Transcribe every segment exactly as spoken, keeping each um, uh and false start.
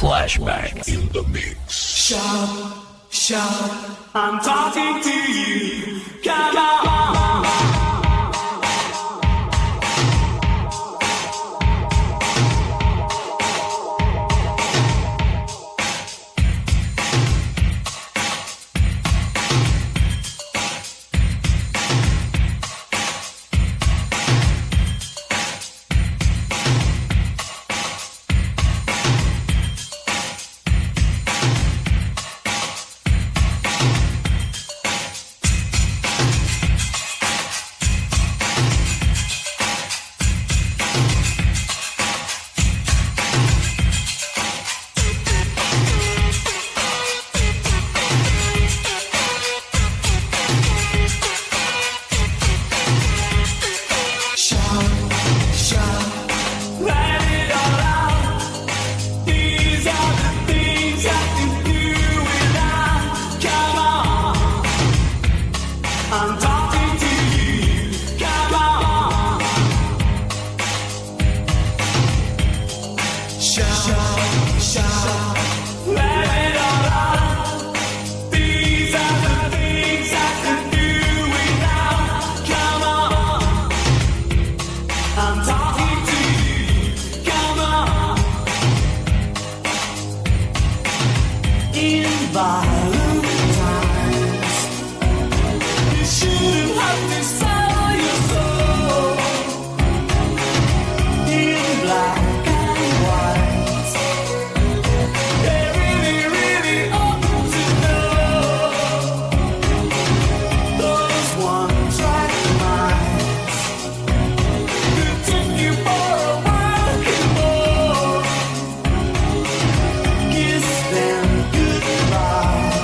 Flashback in the mix. Shout, shout, I'm talking to you. Come on. Kiss them goodbye.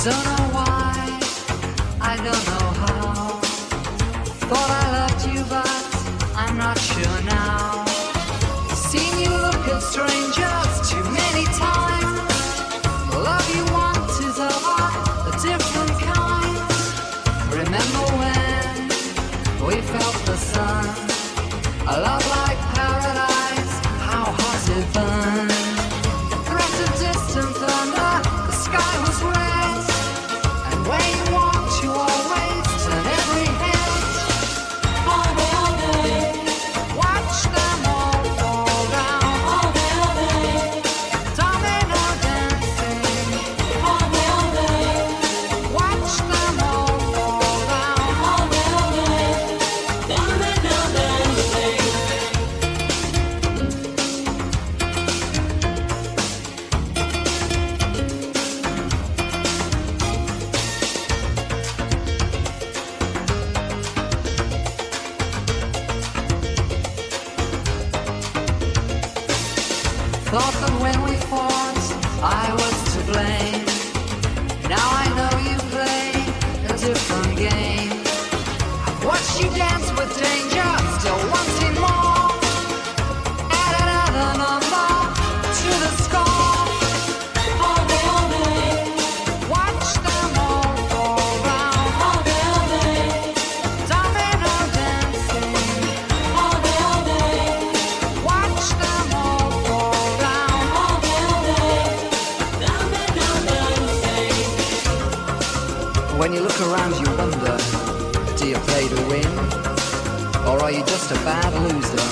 Don't know why, I don't know how. Thought I loved you, but I'm not sure now. Seen you look at strangers too many times. The love you want is of a different kind. Remember when we felt the sun? A love like paradise, how hot it burned. Threat of distant thunder, the sky was red. And where you walked, you always turn every head. All day, all day, watch them all fall down. All day, all day, domino dancing. All day, all day, watch them all fall down. All day, all day, domino dancing. Thought that when we fought, I was to blame. Now I know you play a different game. I've watched you dance with danger, still wanting more. Add another number to the score. All day, all day, watch them all fall round. All day, all day, domino dancing. All day, all day, watch them all fall down. All day, all day, domino dancing. When you look around you wonder, do you play to win? Or are you just a bad loser?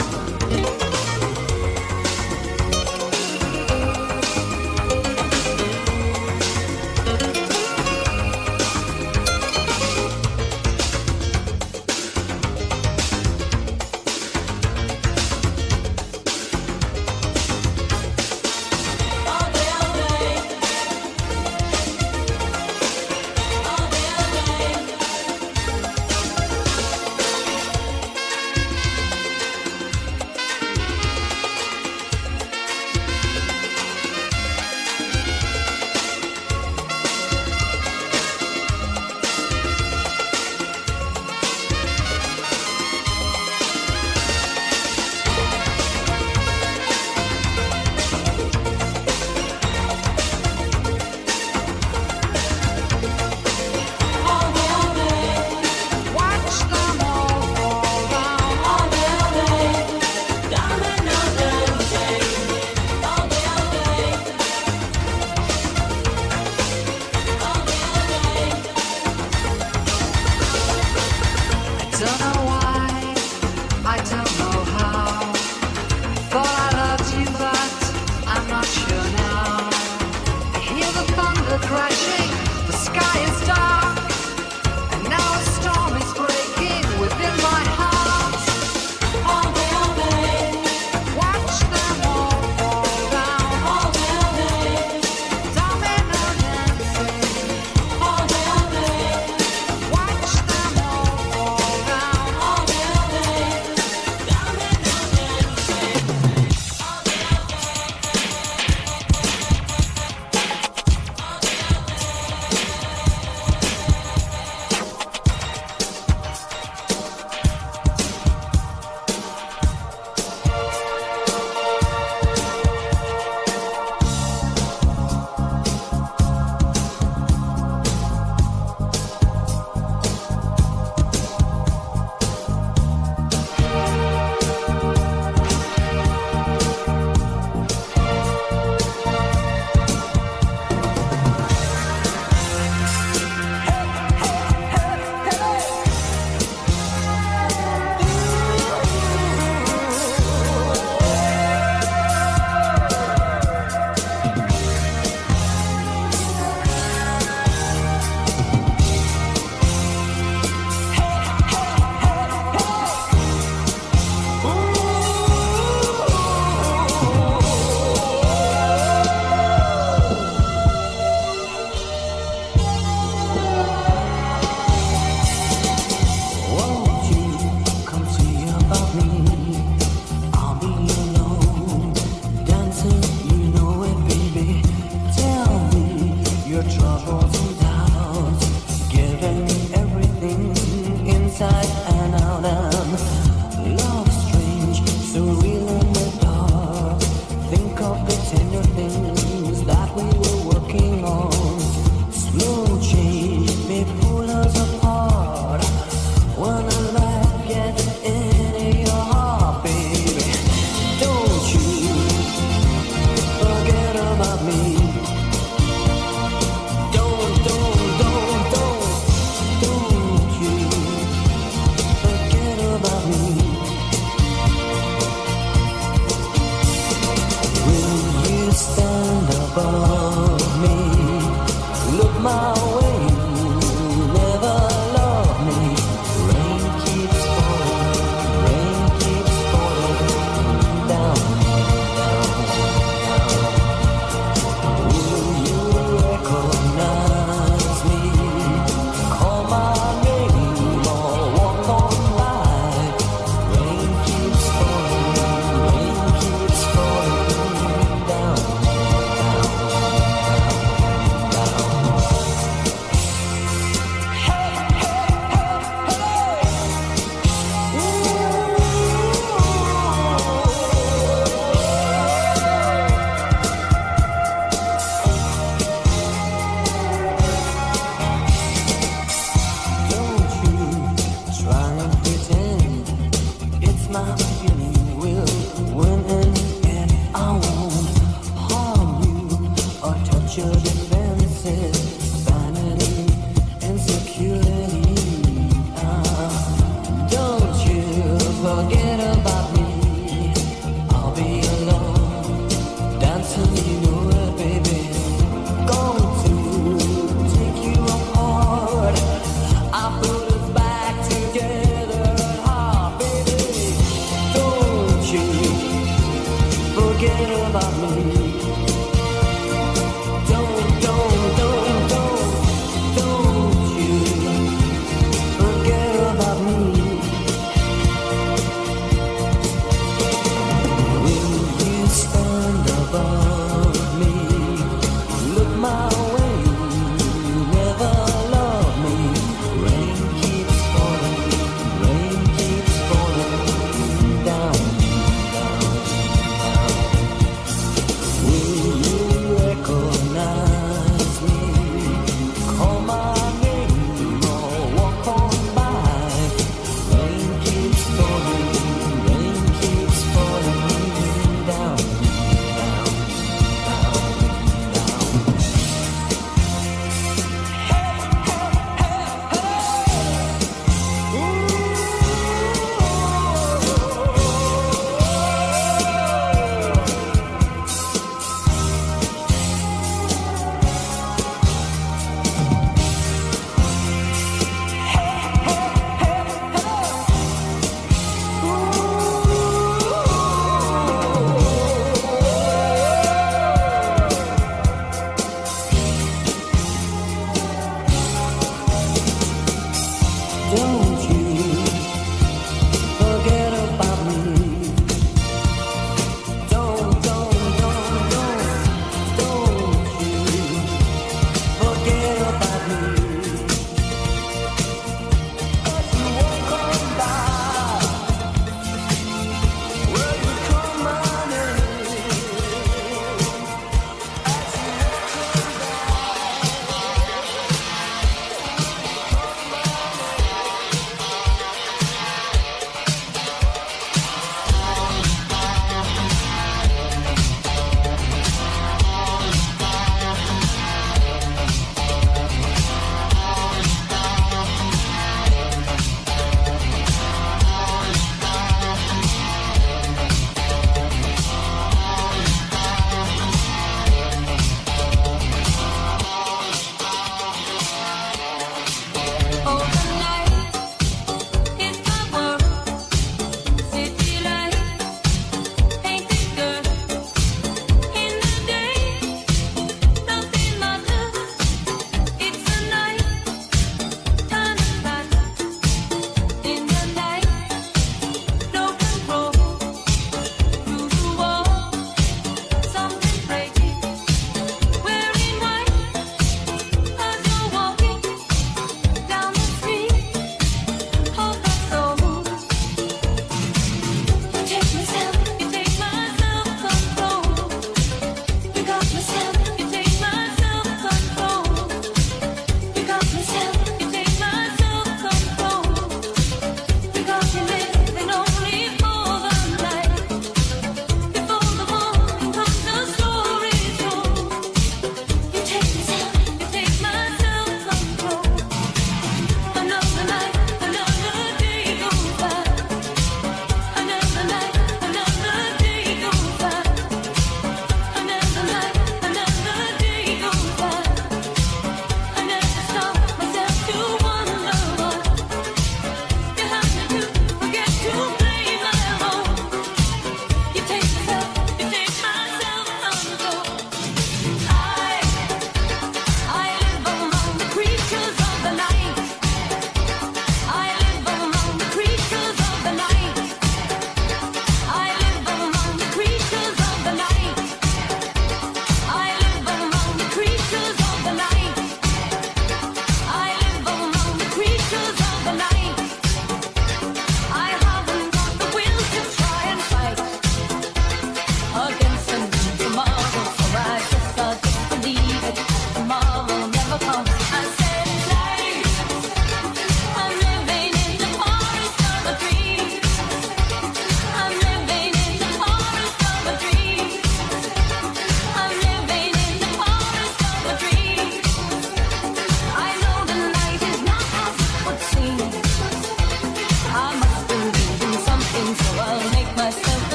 your defenses, vanity and security. Ah, don't you forget about me. I'll be alone, dancing, you know it, baby. Going to take you apart. I put us back together at heart, baby. Don't you forget about me. Don't, don't, don't, don't, don't you forget about me. Will you stand above me? Look my way, never love me. Rain keeps falling, rain keeps falling down, down, down.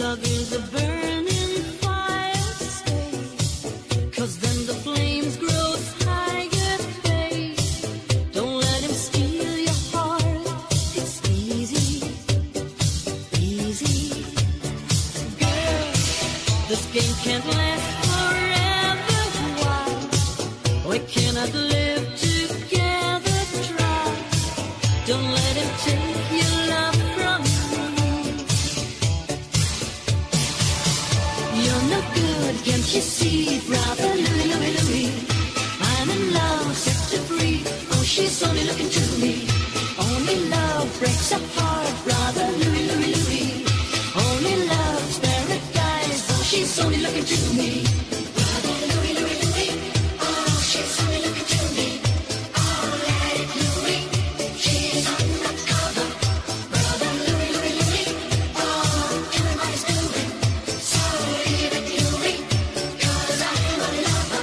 love is a burning fire, stay. 'Cause then the flames grow higher, babe. Don't let him steal your heart. It's easy, easy. Girl, this game can't last forever. Why? We cannot live together. Try. Don't let him take your love from me. You're no good, can't you see, brother Louie, Louie, Louie? I'm in love, set to free. Oh, she's only looking to me. Only love breaks a heart, brother Louie, Louie, Louie. Only love's paradise. Oh, she's only looking to me. Brother Louie, Louie, Louie. Oh, she's only looking to me. Oh, let it Louie. She's undercover. Brother Louie, Louie, Louie. Oh, everybody's doing. So leave it Louie. 'Cause I'm a lover.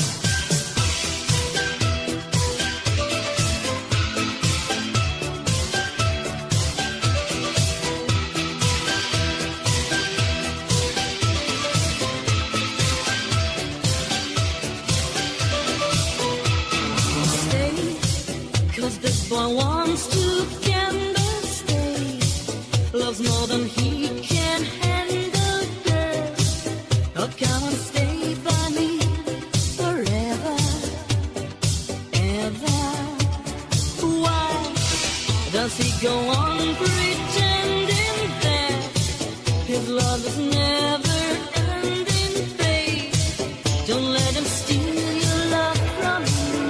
Stay, 'cause this boy wants to gamble. Stay, loves more than he can handle, girl. Oh, come and stay by me forever, ever. Why does he go on pretending that his love is never ending, babe? Don't let him steal your love from me.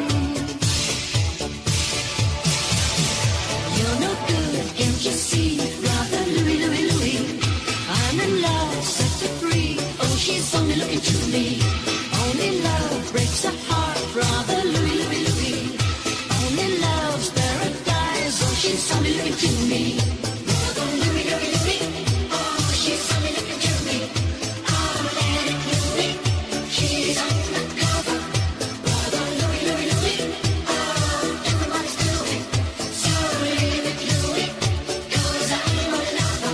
You're no good, can't you see, brother Louie, Louie, Louie? I'm in love, set to free. Oh, she's only looking to me. Only love breaks a heart, brother Louie, Louie, Louie. Only love's paradise. Oh, she's only looking to me. Brother Louie, Louie, Louie. Oh, she's only looking to me. Oh, let it Louie. She's undercover. Brother Louie, Louie, Louie. Oh, everybody's doing. So leave it Louie. 'Cause I'm a lover.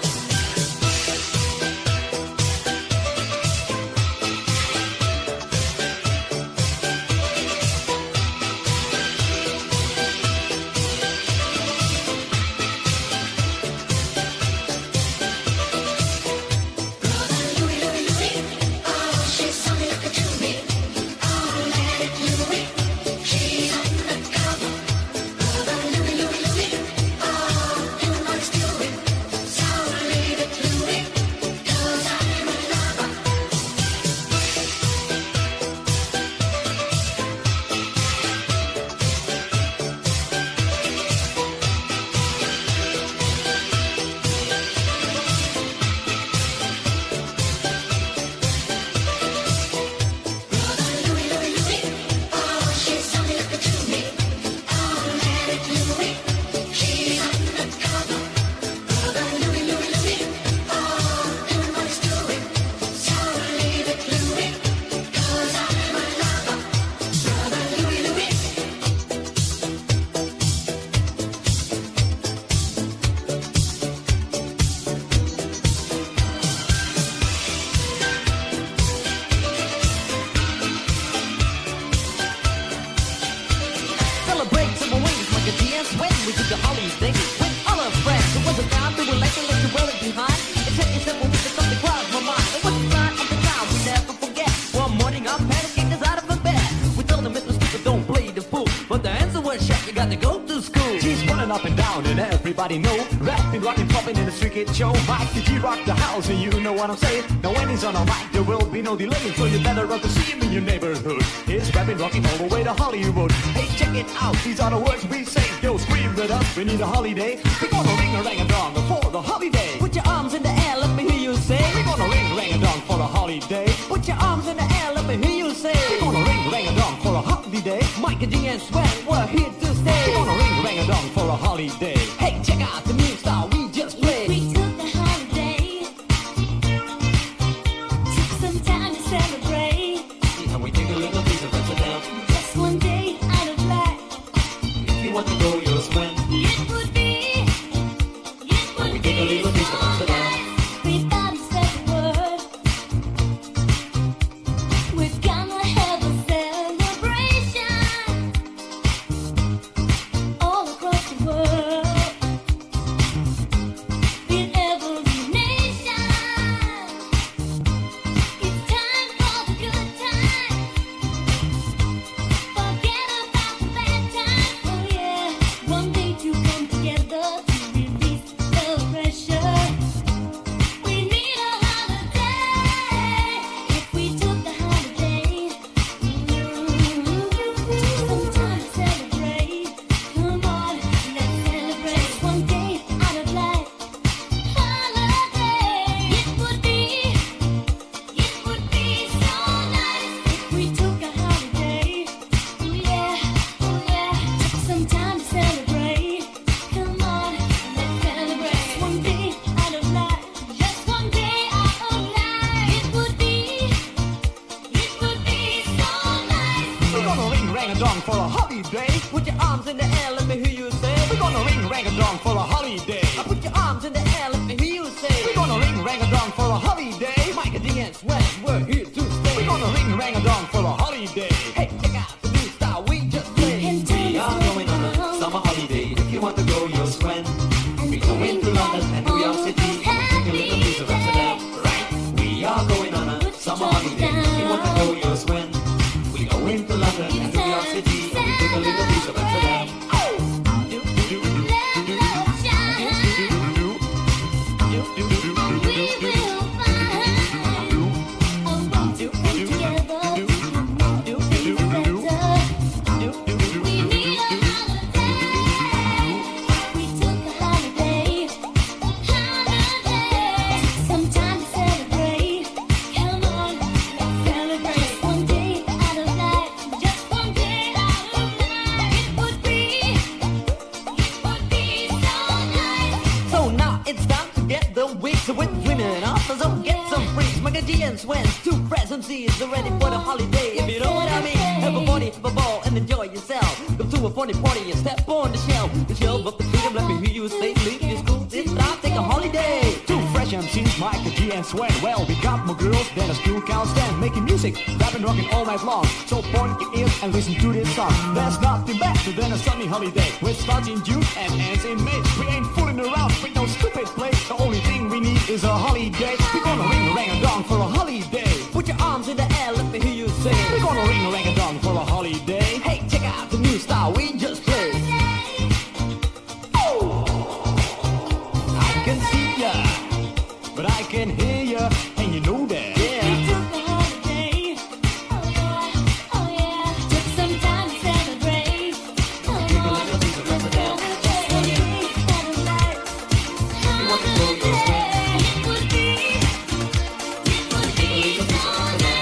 Up and down and everybody know rapping, rocking, popping in the street kid show. Mike the G rock the house and you know what I'm saying. Now when he's on a mic there will be no delay, so you better run to see him in your neighborhood. He's rapping, rocking all the way to Hollywood. Hey, check it out, these are the words we say. Yo, scream with us, we need a holiday. We're gonna ring a rang a dong for the holiday. Put your arms in the air, let me hear you say. We're gonna ring rang a dong for a holiday. Put your arms in the air, let me hear you say. We're gonna ring rang a dong for a holiday. Mike and G and Sven, we're here to stay. We're gonna ring rang a dong for a holiday. Hey, check out the new style we just played. We took the holiday, took some time to celebrate. And we take a little piece of Amsterdam. Just one day out of life. If you want to go, you'll swim. It would be, it would we be take a little piece of so Amsterdam. nice. We thought it's arms in the air, let me hear you say, we're gonna ring rang-a-dong for a holiday. I put your arms in the air, let me hear you say, we're gonna ring rang-a-dong for a holiday. Mike D and Swen, we're here to stay. We're gonna ring rang-a-dong for a holiday. Hey, check out the new style we just played. We are going on a summer holiday. If you want to go, you'll Swen. We're going to London and New York City. Take a little piece of Amsterdam. Right? We are going on a summer holiday. If you want to go, you'll Swen. We're going to London and New York City. We take a little piece of Amsterdam. So with women offers, oh, get some freaks. Maggie and Swen, two presents is ready for the holiday. If you know what I mean, have a party, have a ball, and enjoy yourself. Go to a funny party and step on the shelf. The shelf of the freedom, let me hear you say, leave your school, this time, take a holiday. Two fresh M Cs, Mike, G, and Swen. Well, we got more girls than a school can't stand. Making music, rapping, rocking all night long. So point your ears and listen to this song. There's nothing better than a sunny holiday. Which starts in June and ends in May. We ain't fooling around with no stupid play. The only thing we need is a holiday. We're gonna ring a rang-a-dong for a holiday. Put your arms in the air, let me hear you say, we're gonna ring a rang-a-dong for a holiday. Hey, check out the new style we just played. Oh, I can see ya, but I can hear ya, and you know that. Yeah. We took a holiday. Oh yeah, oh yeah. Took some time to celebrate. Come on, Take a little piece of Amsterdam. You want to go, you'll Swen. it would be, it would be so nice.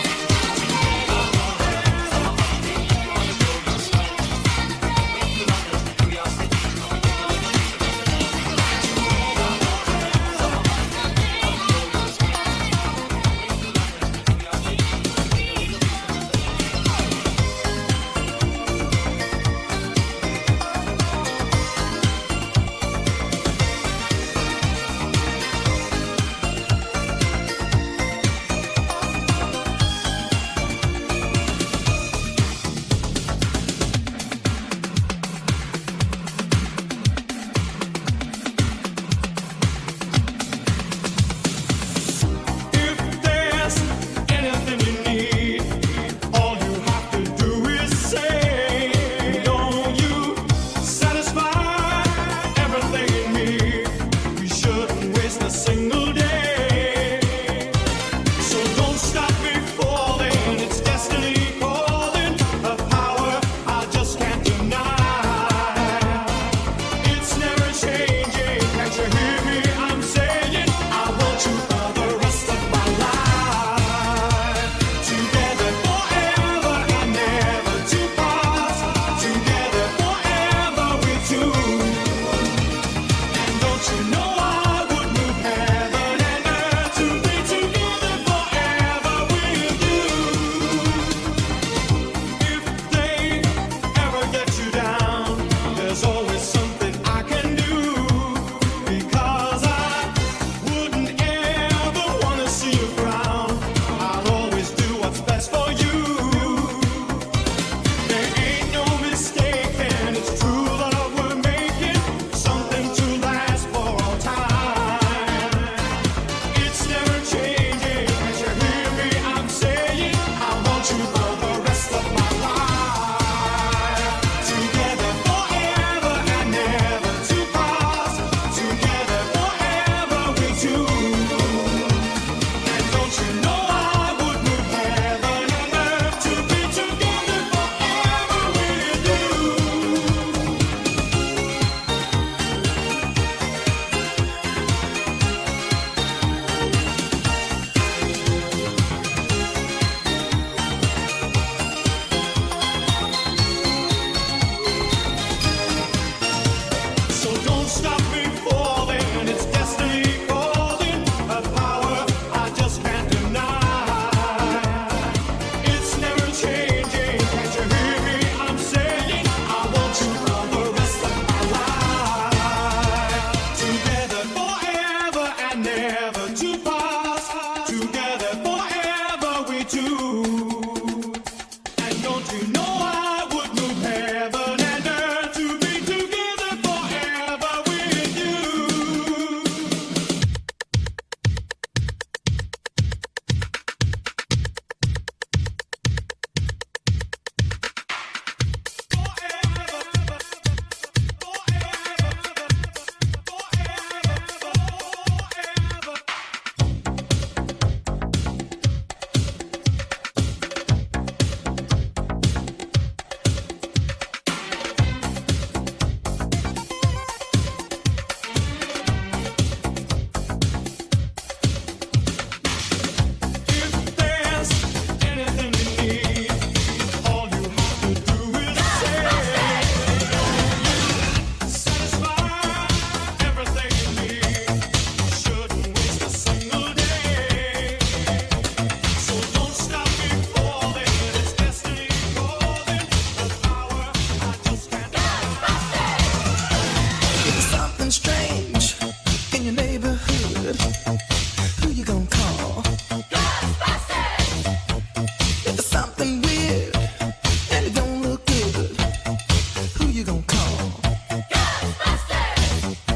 you gonna call? Ghostbusters! If there's something weird and it don't look good, who you gonna call? Ghostbusters!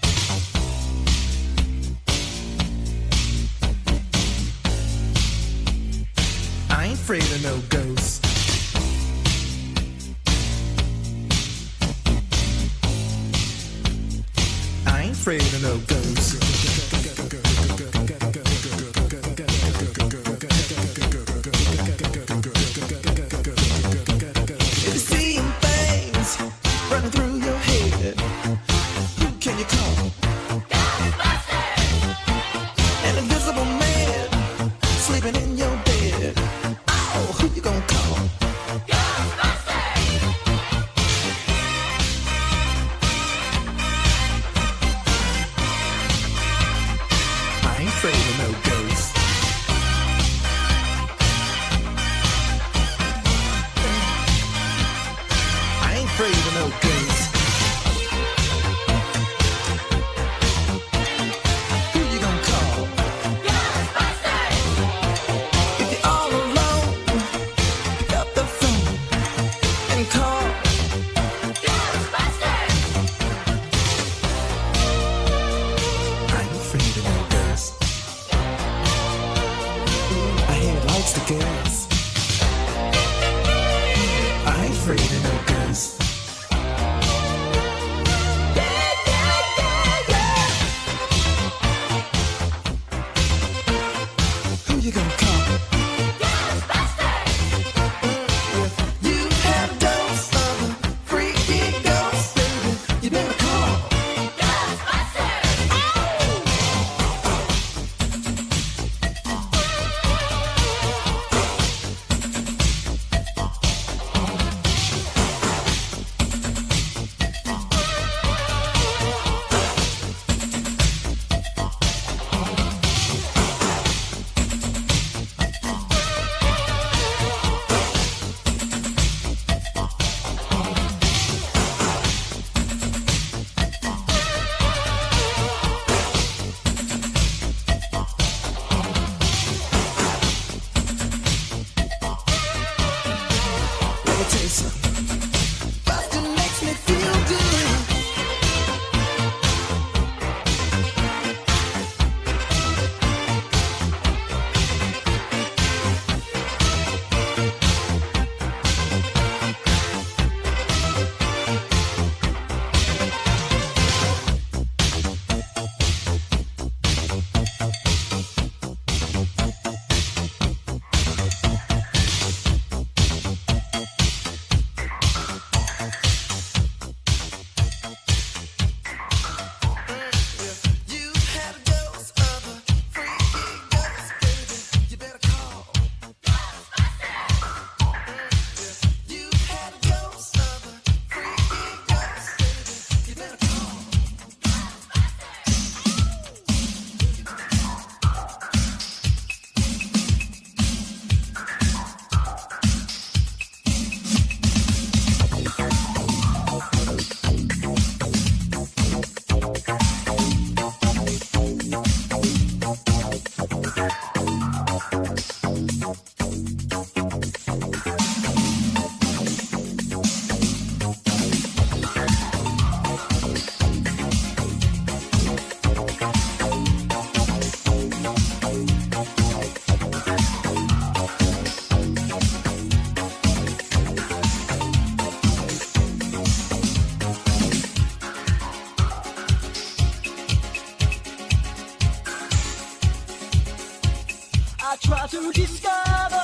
I ain't afraid of no ghosts. I ain't afraid of no ghosts. If you're seeing things running through your head, who can you call? Ghostbusters! An invisible man sleeping in your bed. Oh, who you gonna call? Ghostbusters! I ain't afraid of no ghosts. I ain't afraid of no ghosts. Who you gonna call? Ghostbusters! If you're all alone, pick up the phone and call Ghostbusters! I ain't afraid of no ghosts. I hear it likes to gas. I ain't afraid of no ghosts. Who you gonna call? Ghostbusters! If you have a dose of a freaky ghost, baby, you better call Ghostbusters! Let me tell you something. Bustin' makes me feel good. You had a dose of a freaky ghost, baby, you better call Ghostbusters. You had a dose of a freaky ghost, baby, you better call I try to discover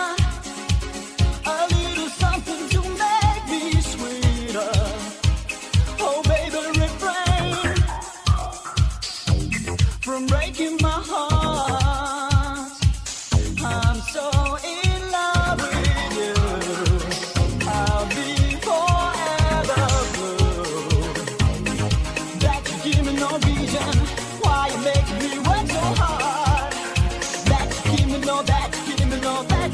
a little something to make me sweeter. Oh, baby, refrain from breaking my heart. I'm so in love with you. I'll be forever blue. That you give me no reason why you make me work so hard. That you give me no, that you give me no, that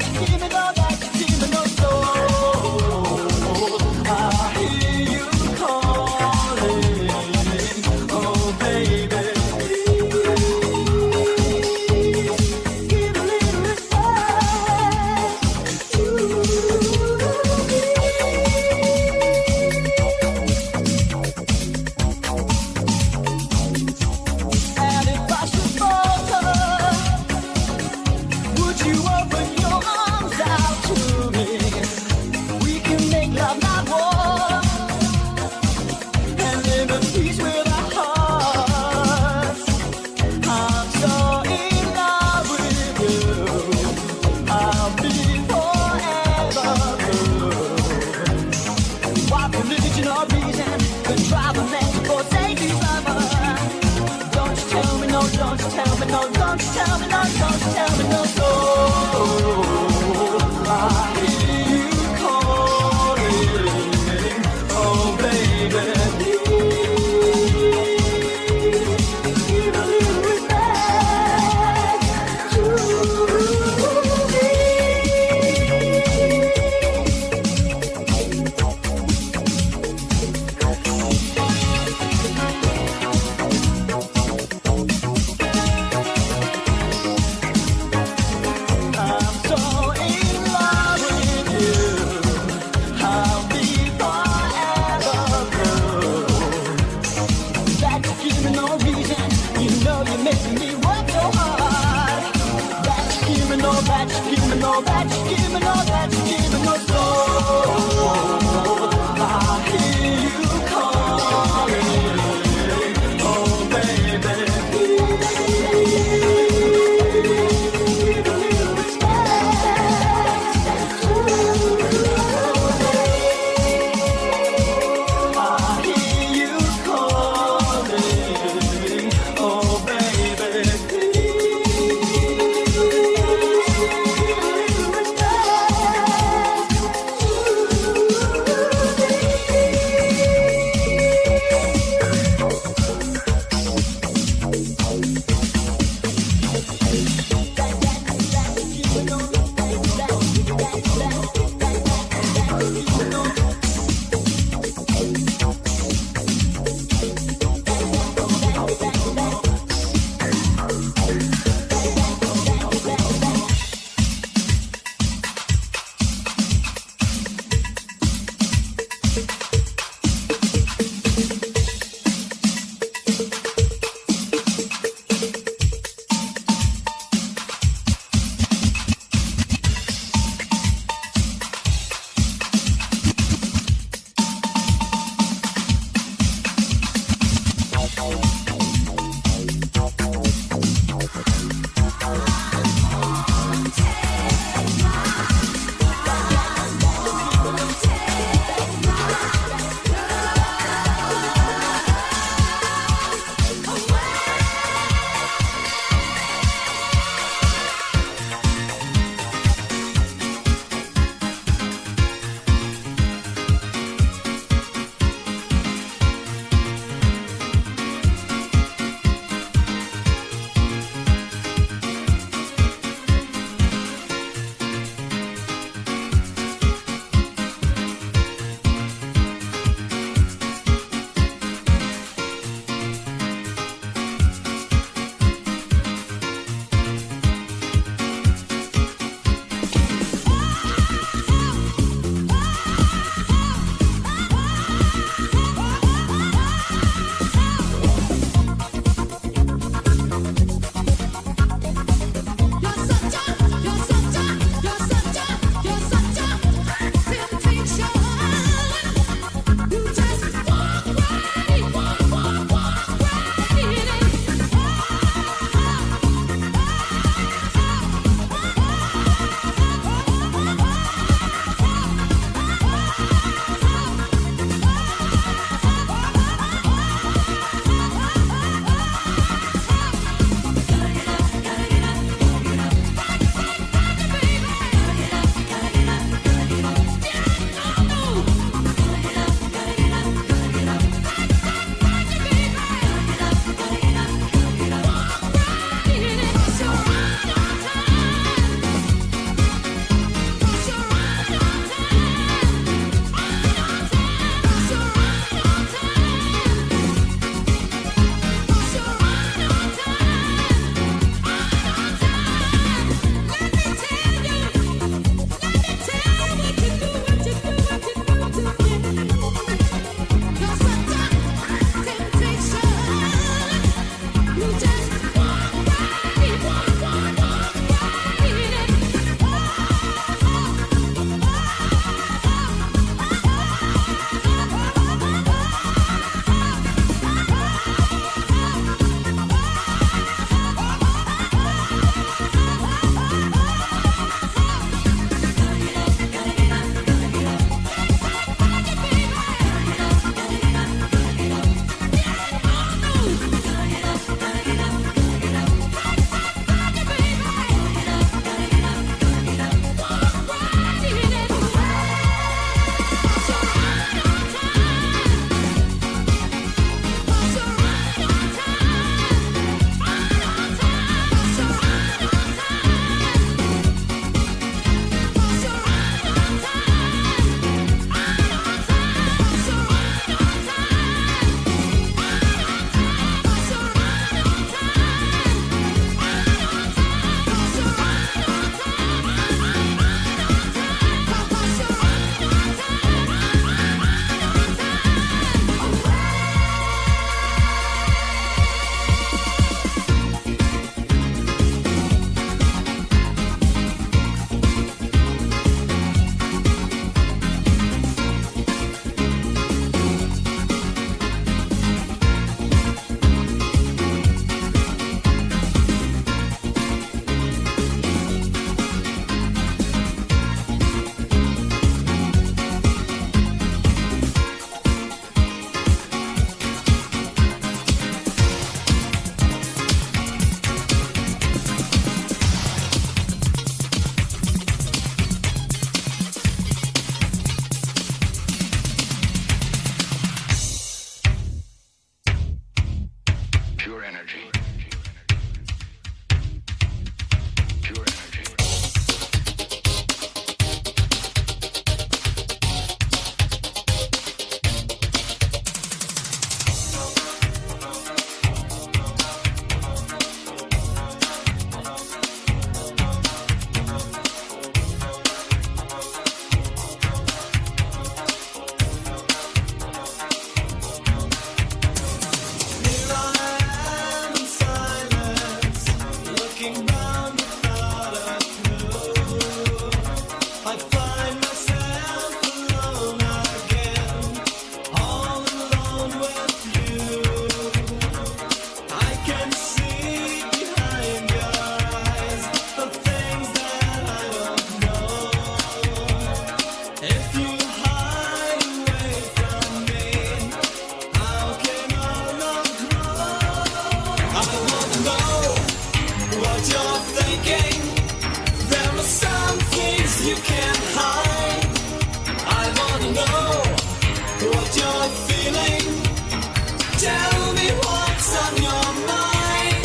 you're thinking. There are some things you can't hide. I wanna know what you're feeling. Tell me what's on your mind.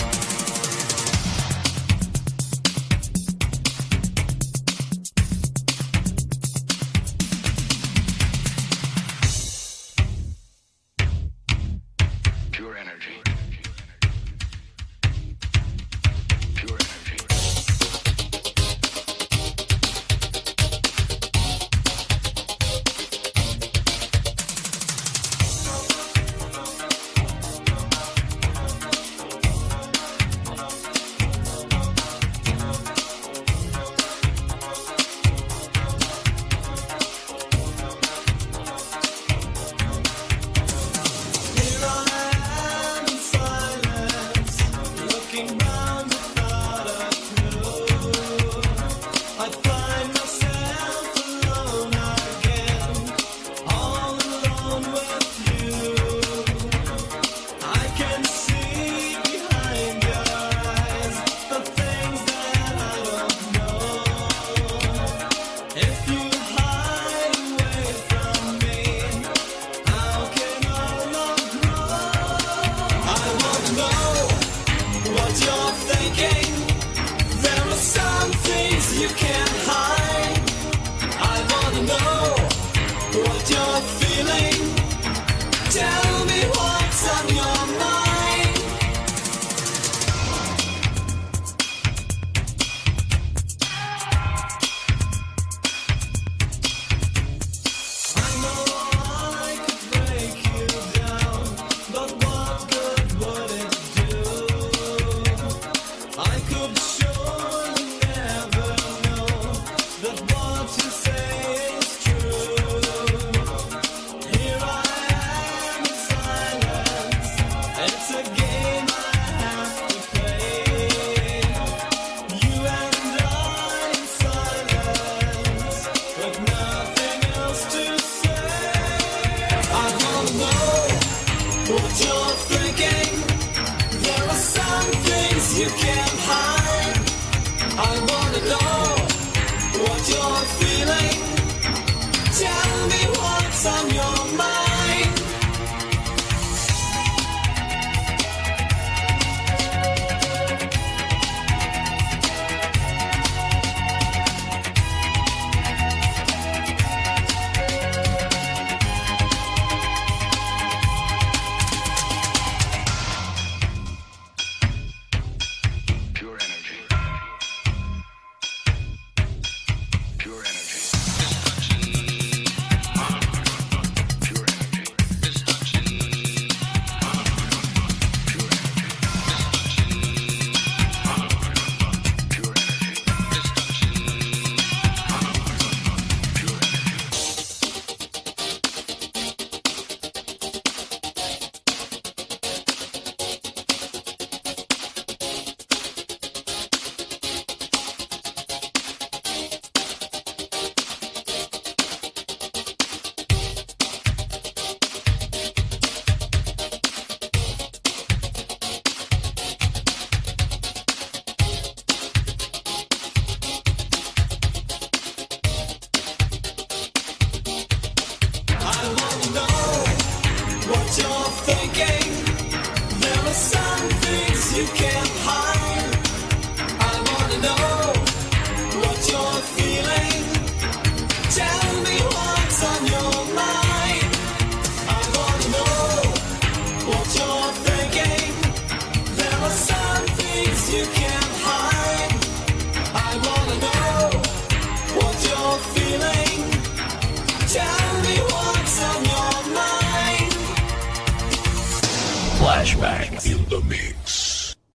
Pure energy. Pure energy. Here I am in silence, looking round without a clue. I find myself alone again, all alone with you. I can see behind your eyes the things that I don't know. If you hide away from me, how can our love grow? I want to know what you're thinking. There are some things you can't hide. I want to know what you're feeling. Tell me what's on your mind. I know I could break you down, but what good would it do? I could show